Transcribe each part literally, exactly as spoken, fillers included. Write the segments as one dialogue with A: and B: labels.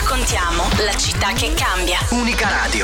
A: raccontiamo la città che cambia.
B: Unica Radio.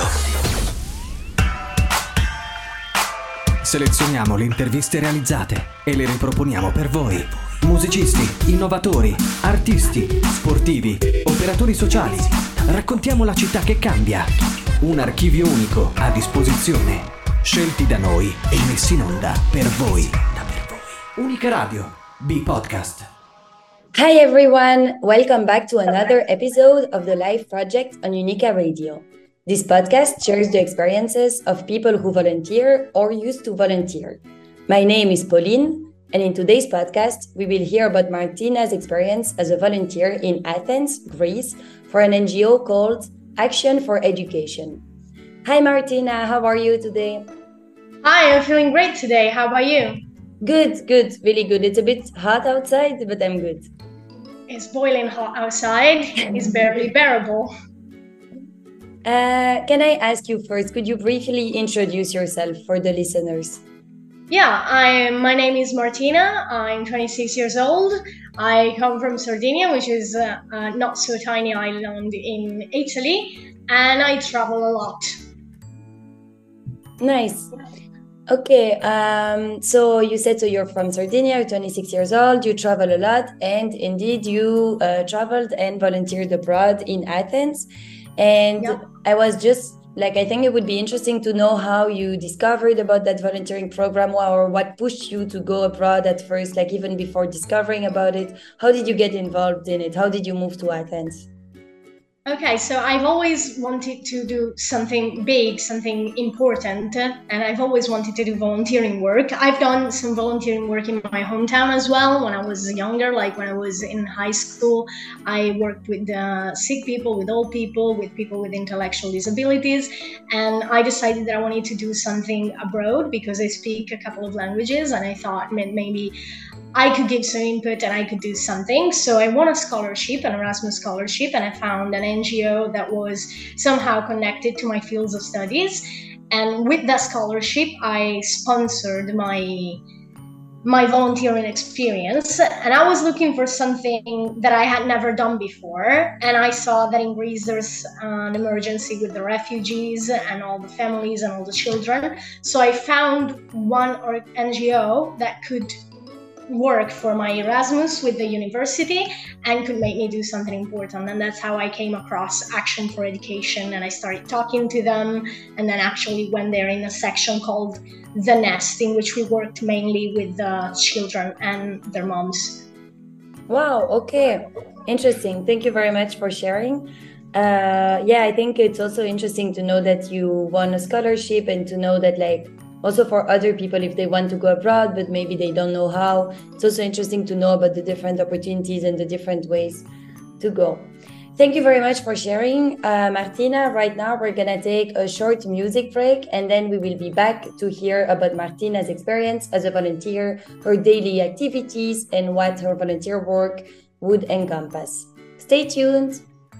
C: Selezioniamo le interviste realizzate e le riproponiamo per voi. Musicisti, innovatori, artisti, sportivi, operatori sociali. Raccontiamo la città che cambia. Un archivio unico a disposizione. Scelti da noi e messi in onda per voi. Unica Radio, B-Podcast.
D: Hi everyone, welcome back to another episode of the Life Project on Unica Radio. This podcast shares the experiences of people who volunteer or used to volunteer. My name is Pauline, and in today's podcast, we will hear about Martina's experience as a volunteer in Athens, Greece, for an N G O called Action for Education. Hi Martina, how are you today?
E: Hi, I'm feeling great today. How about you?
D: Good, good, really good. It's a bit hot outside, but I'm good.
E: It's boiling hot outside. It's barely bearable.
D: Uh, can I ask you first, could you briefly introduce yourself for the listeners?
E: Yeah, I my name is Martina. I'm twenty-six years old. I come from Sardinia, which is a, a not so tiny island in Italy, and I travel a lot.
D: Nice. Okay, um, so you said so you're from Sardinia, you're twenty-six years old, you travel a lot, and indeed you uh, traveled and volunteered abroad in Athens. And
E: Yeah.
D: I was just like, I think it would be interesting to know how you discovered about that volunteering program, or what pushed you to go abroad at first, like even before discovering about it. How did you get involved in it? How did you move to Athens?
E: Okay, so I've always wanted to do something big, something important, and I've always wanted to do volunteering work. I've done some volunteering work in my hometown as well when I was younger, like when I was in high school. I worked with uh, sick people, with old people, with people with intellectual disabilities, and I decided that I wanted to do something abroad because I speak a couple of languages, and I thought maybe I could give some input and I could do something. So I won a scholarship, an Erasmus scholarship, and I found an N G O that was somehow connected to my fields of studies. And with that scholarship, I sponsored my my volunteering experience. And I was looking for something that I had never done before. And I saw that in Greece there's an emergency with the refugees and all the families and all the children. So I found one N G O that could work for my Erasmus with the university and could make me do something important. And that's how I came across Action for Education, and I started talking to them, and then actually went there in a section called The Nest, in which we worked mainly with the children and their moms.
D: Wow, okay. Interesting. Thank you very much for sharing. Uh, yeah, I think it's also interesting to know that you won a scholarship, and to know that, like, also for other people, if they want to go abroad, but maybe they don't know how, it's also interesting to know about the different opportunities and the different ways to go. Thank you very much for sharing, uh, Martina. Right now, we're going to take a short music break, and then we will be back to hear about Martina's experience as a volunteer, her daily activities, and what her volunteer work would encompass. Stay tuned.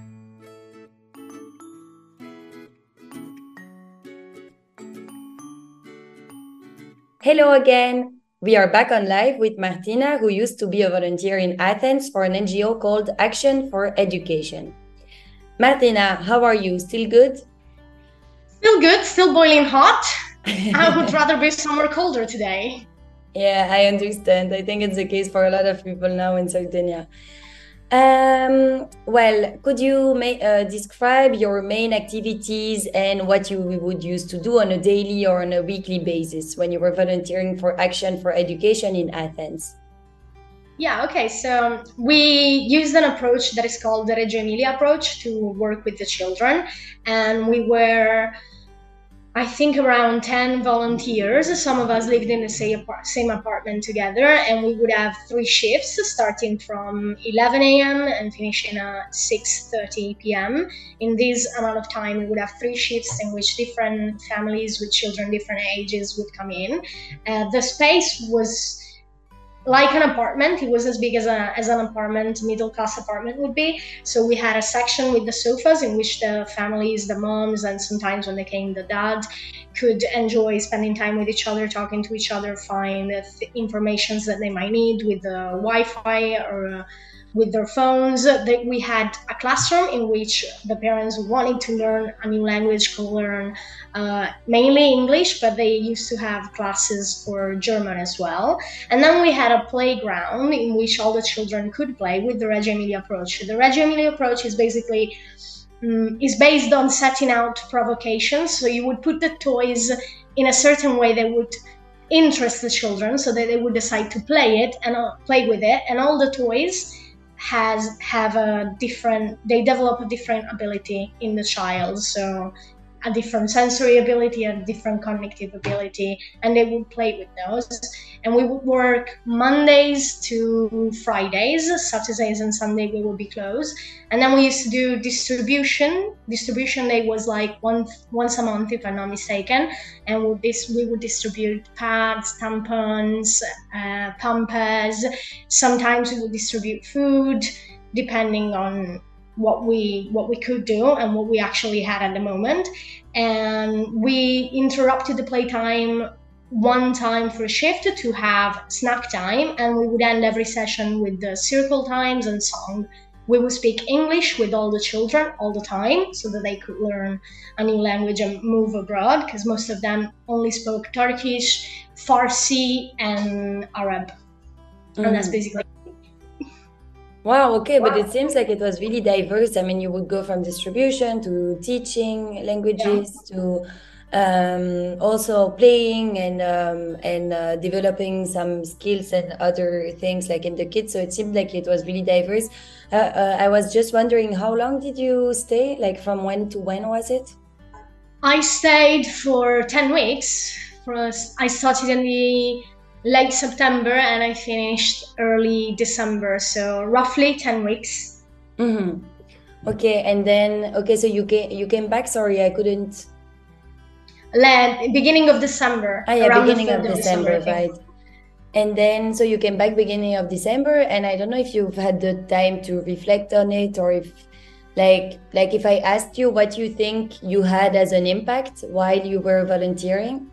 D: Hello again. We are back on live with Martina, who used to be a volunteer in Athens for an N G O called Action for Education. Martina, how are you? Still good?
E: Still good, still boiling hot. I would rather be somewhere colder today.
D: Yeah, I understand. I think it's the case for a lot of people now in Sardinia. Um, well, could you ma- uh, describe your main activities and what you would used to do on a daily or on a weekly basis when you were volunteering for Action for Education in Athens?
E: Yeah, okay. So we used an approach that is called the Reggio Emilia approach to work with the children. And we were, I think, around ten volunteers. Some of us lived in the same, apart- same apartment together, and we would have three shifts starting from eleven a.m. and finishing at six thirty p.m. In this amount of time, we would have three shifts in which different families with children different ages would come in. Uh, the space was like an apartment. It was as big as, a, as an apartment, middle-class apartment would be. So we had a section with the sofas in which the families, the moms, and sometimes when they came, the dad, could enjoy spending time with each other, talking to each other, find uh, th- informations that they might need with the Wi-Fi or uh, with their phones. That we had a classroom in which the parents wanted to learn a new language could learn uh, mainly English, but they used to have classes for German as well. And then we had a playground in which all the children could play with the Reggio Emilia approach. The Reggio Emilia approach is basically um, is based on setting out provocations. So you would put the toys in a certain way that would interest the children, so that they would decide to play it and uh, play with it. And all the toys has have a different. They develop a different ability in the child. So a different sensory ability, a different cognitive ability, and they would play with those. And we would work Mondays to Fridays, Saturdays and Sunday we would be closed. And then we used to do distribution. Distribution day was like once once a month, if I'm not mistaken. And with this, we would distribute pads, tampons, uh, pampers. Sometimes we would distribute food, depending on what we what we could do and what we actually had at the moment. And we interrupted the playtime one time for a shift to have snack time, and we would end every session with the circle times and song. We would speak English with all the children all the time, so that they could learn a new language and move abroad, because most of them only spoke Turkish, Farsi and Arab. Mm. And that's basically.
D: Wow, okay, but it seems like it was really diverse. I mean, you would go from distribution to teaching languages yeah. to um, also playing and um, and uh, developing some skills and other things like in the kids. So it seemed like it was really diverse. Uh, uh, I was just wondering, how long did you stay? Like from when to when was it?
E: I stayed for ten weeks. For us, I started in the late September and I finished early December, so roughly ten weeks.
D: Mm-hmm. Okay, and then okay, so you came you came back. Sorry, I couldn't.
E: Le- beginning of December.
D: Ah, yeah, beginning of December, December right? And then so you came back beginning of December, and I don't know if you've had the time to reflect on it, or if, like, like if I asked you what you think you had as an impact while you were volunteering.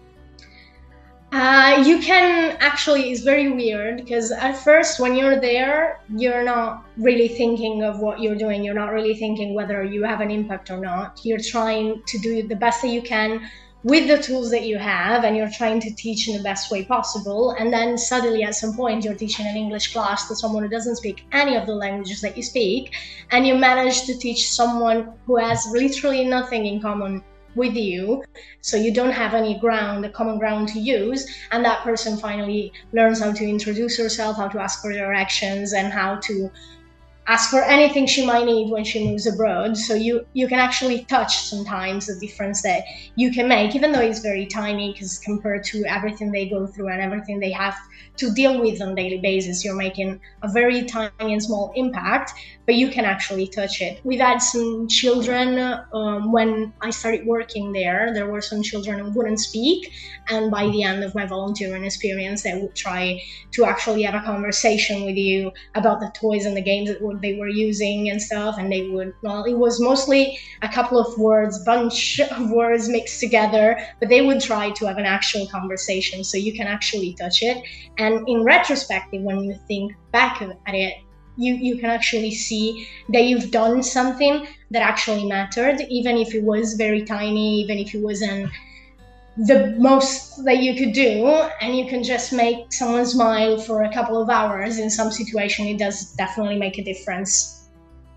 E: Uh, you can actually, it's very weird because at first when you're there, you're not really thinking of what you're doing. You're not really thinking whether you have an impact or not. You're trying to do the best that you can with the tools that you have, and you're trying to teach in the best way possible. And then suddenly at some point you're teaching an English class to someone who doesn't speak any of the languages that you speak, and you manage to teach someone who has literally nothing in common with you, so you don't have any ground, a common ground to use, and that person finally learns how to introduce herself, how to ask for directions, and how to ask for anything she might need when she moves abroad. So you you can actually touch sometimes the difference that you can make, even though it's very tiny, because compared to everything they go through and everything they have to deal with on a daily basis, you're making a very tiny and small impact, but you can actually touch it. We've had some children, um, when I started working there, there were some children who wouldn't speak, and by the end of my volunteering experience, they would try to actually have a conversation with you about the toys and the games that they were using and stuff, and they would, well, it was mostly a couple of words, bunch of words mixed together, but they would try to have an actual conversation, so you can actually touch it. And in retrospective, when you think back at it, you, you can actually see that you've done something that actually mattered, even if it was very tiny, even if it wasn't the most that you could do, and you can just make someone smile for a couple of hours in some situation. It does definitely make a difference.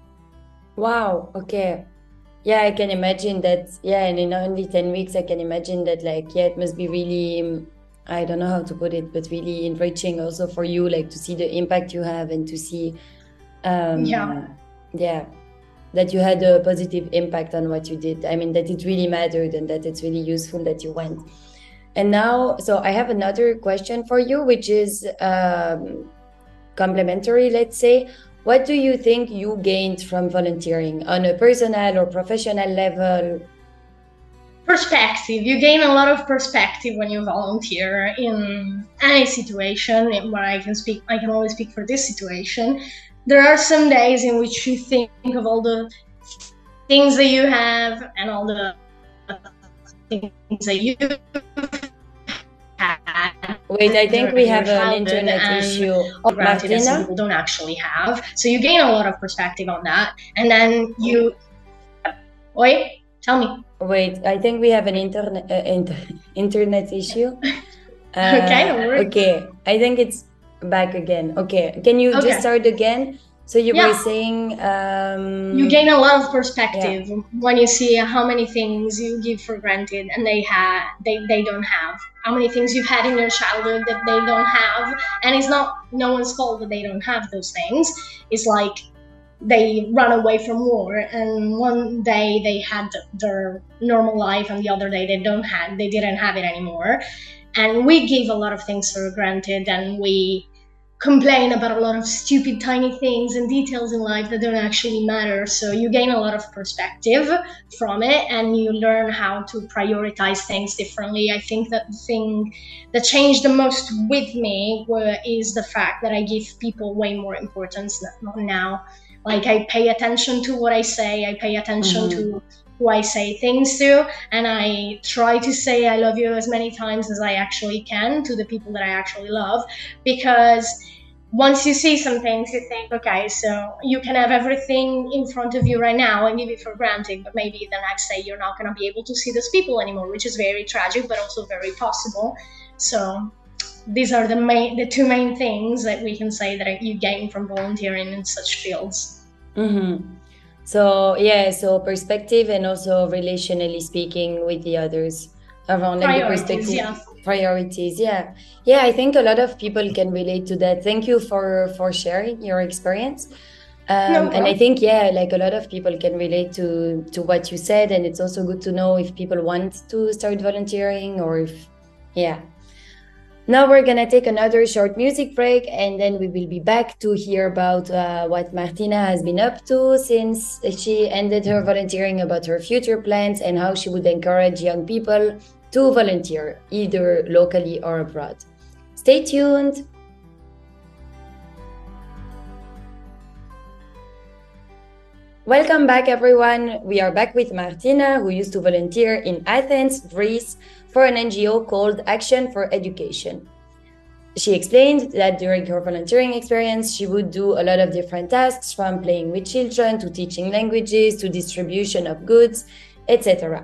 D: Wow, okay. Yeah, I can imagine that. Yeah, and in only ten weeks, I can imagine that, like, yeah, it must be really, I don't know how to put it, but really enriching also for you, like, to see the impact you have and to see, um,
E: yeah,
D: yeah, that you had a positive impact on what you did. I mean, that it really mattered and that it's really useful that you went. And now, so I have another question for you, which is um, complementary, let's say. What do you think you gained from volunteering on a personal or professional level?
E: Perspective. You gain a lot of perspective when you volunteer in any situation. Where I can speak, I can only speak for this situation. There are some days in which you think of all the things that you have and all the things that you had,
D: Wait, I think we
E: your
D: have an
E: childhood
D: internet
E: and
D: issue.
E: granted that some
D: Martina?
E: people don't actually have. So you gain a lot of perspective on that, and then you wait tell me.
D: Wait, I think we have an internet uh, inter- internet issue. Uh,
E: Okay, no worries.
D: okay, I think it's back again. Okay, can you
E: Okay.
D: just start again? So you
E: Yeah.
D: were saying um,
E: You gain a lot of perspective when you see how many things you give for granted and they have they, they don't have. How many things you've had in your childhood that they don't have, and it's not no one's fault that they don't have those things. It's like they run away from war, and one day they had their normal life, and the other day they don't have they didn't have it anymore. And we give a lot of things for granted, and we complain about a lot of stupid tiny things and details in life that don't actually matter. So you gain a lot of perspective from it, and you learn how to prioritize things differently. I think that the thing that changed the most with me were, is the fact that I give people way more importance now. Like, I pay attention to what I say, I pay attention mm-hmm. to who I say things to, and I try to say I love you as many times as I actually can to the people that I actually love, because once you see some things, you think, okay, so you can have everything in front of you right now and give it for granted, but maybe the next day you're not going to be able to see those people anymore, which is very tragic, but also very possible. So these are the main, the two main things that we can say that you gain from volunteering in such fields.
D: Mm-hmm. So yeah, so perspective and also relationally speaking with the others around like the perspective.
E: Yeah.
D: Priorities, yeah. Yeah, I think a lot of people can relate to that. Thank you for for sharing your experience. Um,
E: no
D: and I think, yeah, like a lot of people can relate to, to what you said. And it's also good to know if people want to start volunteering or if, yeah. Now we're going to take another short music break, and then we will be back to hear about uh, what Martina has been up to since she ended her volunteering, about her future plans, and how she would encourage young people to volunteer, either locally or abroad. Stay tuned. Welcome back, everyone. We are back with Martina, who used to volunteer in Athens, Greece, for an N G O called Action for Education. She explained that during her volunteering experience, she would do a lot of different tasks, from playing with children to teaching languages to distribution of goods, et cetera.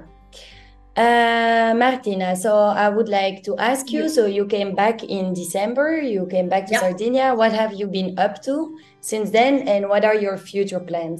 D: Uh, Martina, so I would like to ask you, so you came back in December, you came back to
E: yep.
D: Sardinia. What have you been up to since then, and what are your future plans?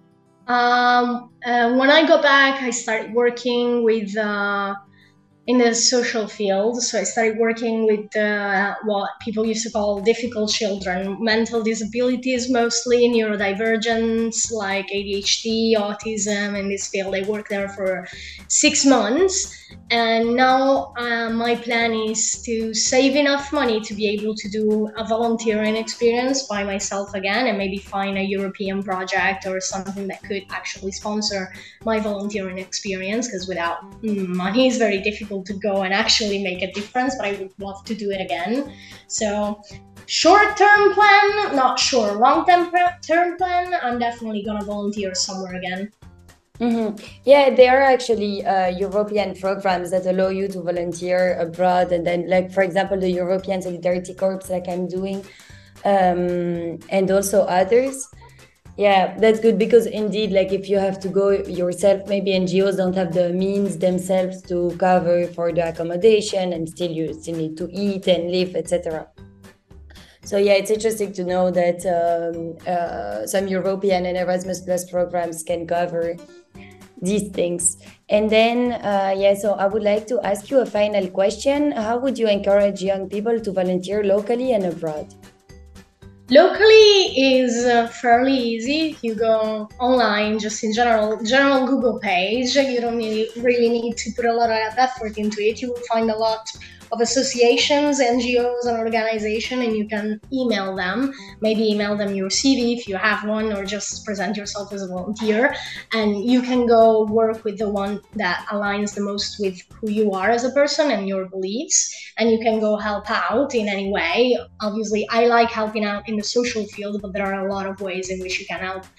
E: Um, uh, when I got back, I started working with uh, in the social field. So I started working with uh, what people used to call difficult children, mental disabilities, mostly neurodivergence, like A D H D, autism. In this field, I worked there for six months. And now uh, my plan is to save enough money to be able to do a volunteering experience by myself again, and maybe find a European project or something that could actually sponsor my volunteering experience, because without money it's very difficult to go and actually make a difference, but I would love to do it again. So short-term plan, not sure, long-term term plan, I'm definitely gonna volunteer somewhere again.
D: Mm-hmm. Yeah, there are actually uh, European programs that allow you to volunteer abroad, and then, like, for example, the European Solidarity Corps, like I'm doing, um, and also others. Yeah, that's good, because indeed, like, if you have to go yourself, maybe N G Os don't have the means themselves to cover for the accommodation, and still you still need to eat and live, et cetera. So yeah, it's interesting to know that um, uh, some European and Erasmus Plus programs can cover these things. And then, uh, yeah, so I would like to ask you a final question. How would you encourage young people to volunteer locally and abroad?
E: Locally is uh, fairly easy. You go online, just in general, general Google page. You don't really, really need to put a lot of effort into it. You will find a lot of associations, N G Os, and organizations, and you can email them. Maybe email them your C V if you have one, or just present yourself as a volunteer, and you can go work with the one that aligns the most with who you are as a person and your beliefs, and you can go help out in any way. Obviously, I like helping out in the social field, but there are a lot of ways in which you can help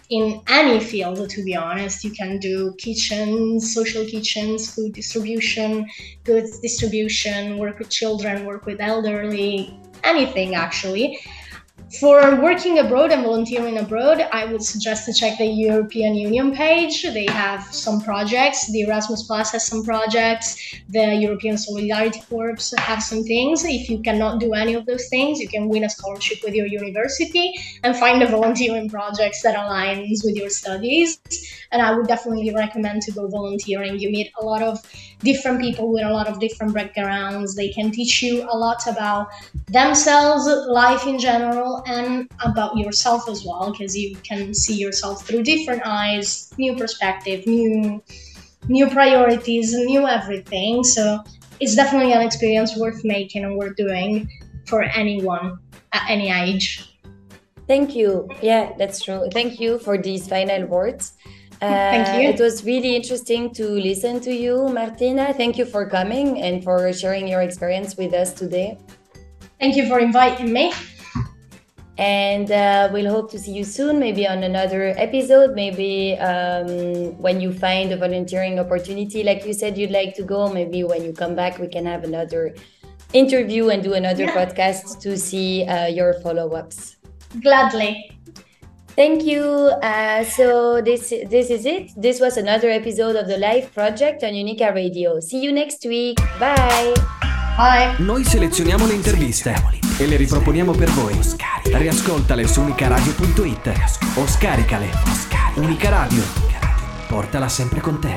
E: in any field, to be honest. You can do kitchens, social kitchens, food distribution, goods distribution, work with children, work with elderly, anything actually. For working abroad and volunteering abroad, I would suggest to check the European Union page. They have some projects. The Erasmus Plus has some projects. The European Solidarity Corps have some things. If you cannot do any of those things, you can win a scholarship with your university and find a volunteering project that aligns with your studies. And I would definitely recommend to go volunteering. You meet a lot of different people with a lot of different backgrounds. They can teach you a lot about themselves, life in general, and about yourself as well, because you can see yourself through different eyes, new perspective, new new priorities, new everything. So it's definitely an experience worth making and worth doing for anyone at any age.
D: Thank you. Yeah, that's true. Thank you for these final words. Uh,
E: Thank you.
D: It was really interesting to listen to you, Martina. Thank you for coming and for sharing your experience with us today.
E: Thank you for inviting me.
D: And uh, we'll hope to see you soon, maybe on another episode, maybe um, when you find a volunteering opportunity, like you said you'd like to go, maybe when you come back, we can have another interview and do another
E: Yeah.
D: podcast to see uh, your follow-ups.
E: Gladly.
D: Thank you. Uh, so this this is it. This was another episode of the Life Project on Unica Radio. See you next week. Bye.
E: Bye.
C: Noi selezioniamo le interviste e le riproponiamo per voi. Riascoltale su unicaradio punto it o scaricale. Unica Radio. Portala sempre con te.